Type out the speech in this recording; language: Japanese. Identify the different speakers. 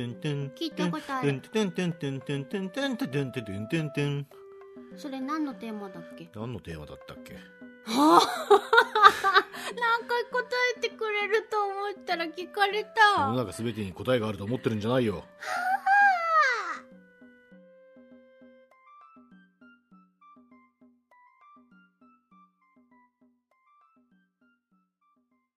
Speaker 1: 聞いたことある。それ何のテーマだっけ？
Speaker 2: 何のテーマだったっけ？
Speaker 1: 何回答えてくれると思ったら聞かれた。
Speaker 2: 世の中すべてに答えがあると思ってるんじゃないよ。